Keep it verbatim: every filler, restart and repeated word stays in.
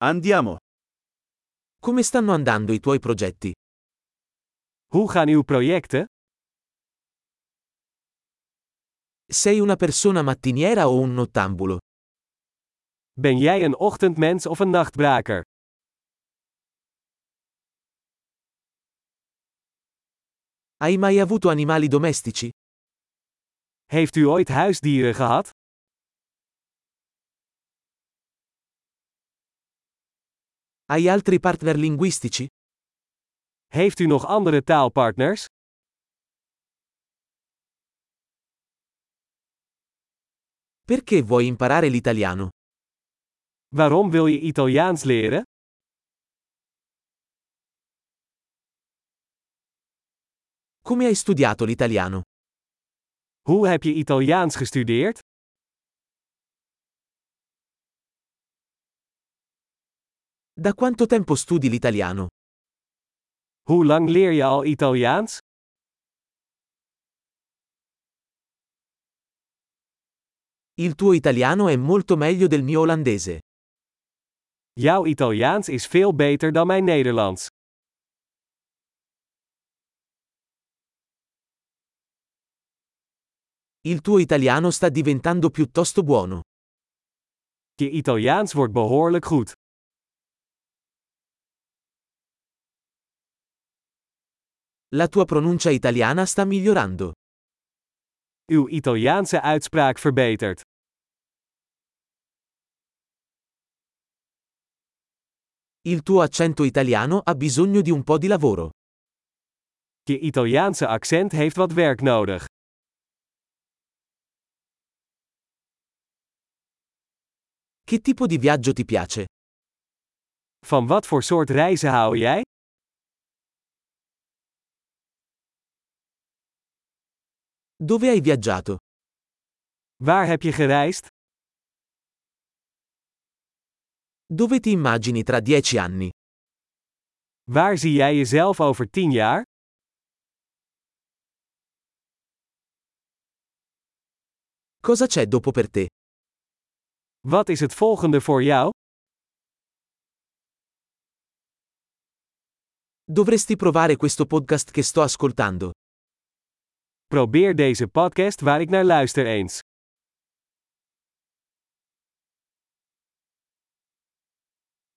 Andiamo. Come stanno andando i tuoi progetti? Hoe gaan uw projecten? Sei una persona mattiniera o un nottambulo? Ben jij een ochtendmens of een nachtbraker? Hai mai avuto animali domestici? Heeft u ooit huisdieren gehad? Hai altri partner linguistici? Heeft u nog andere taalpartners? Perché vuoi imparare l'italiano? Waarom wil je Italiaans leren? Come hai studiato l'italiano? Hoe heb je Italiaans gestudeerd? Da quanto tempo studi l'italiano? Hoe lang leer je al Italiaans? Il tuo italiano è molto meglio del mio olandese. Jouw Italiaans is veel beter dan mijn Nederlands. Il tuo italiano sta diventando piuttosto buono. Je Italiaans wordt behoorlijk goed. La tua pronuncia italiana sta migliorando. Uw Italiaanse uitspraak verbetert. Il tuo accento italiano ha bisogno di un po' di lavoro. Je Italiaanse accent heeft wat werk nodig. Che tipo di viaggio ti piace? Van wat voor soort reizen hou jij? Dove hai viaggiato? Waar heb je gereisd? Dove ti immagini tra dieci anni? Waar zie jij jezelf over tien jaar? Cosa c'è dopo per te? Wat is het volgende voor jou? Dovresti provare questo podcast che sto ascoltando. Probeer deze podcast waar ik naar luister eens.